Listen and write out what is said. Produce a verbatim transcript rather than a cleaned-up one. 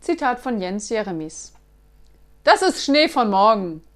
Zitat von Jens Jeremies. Das ist Schnee von morgen.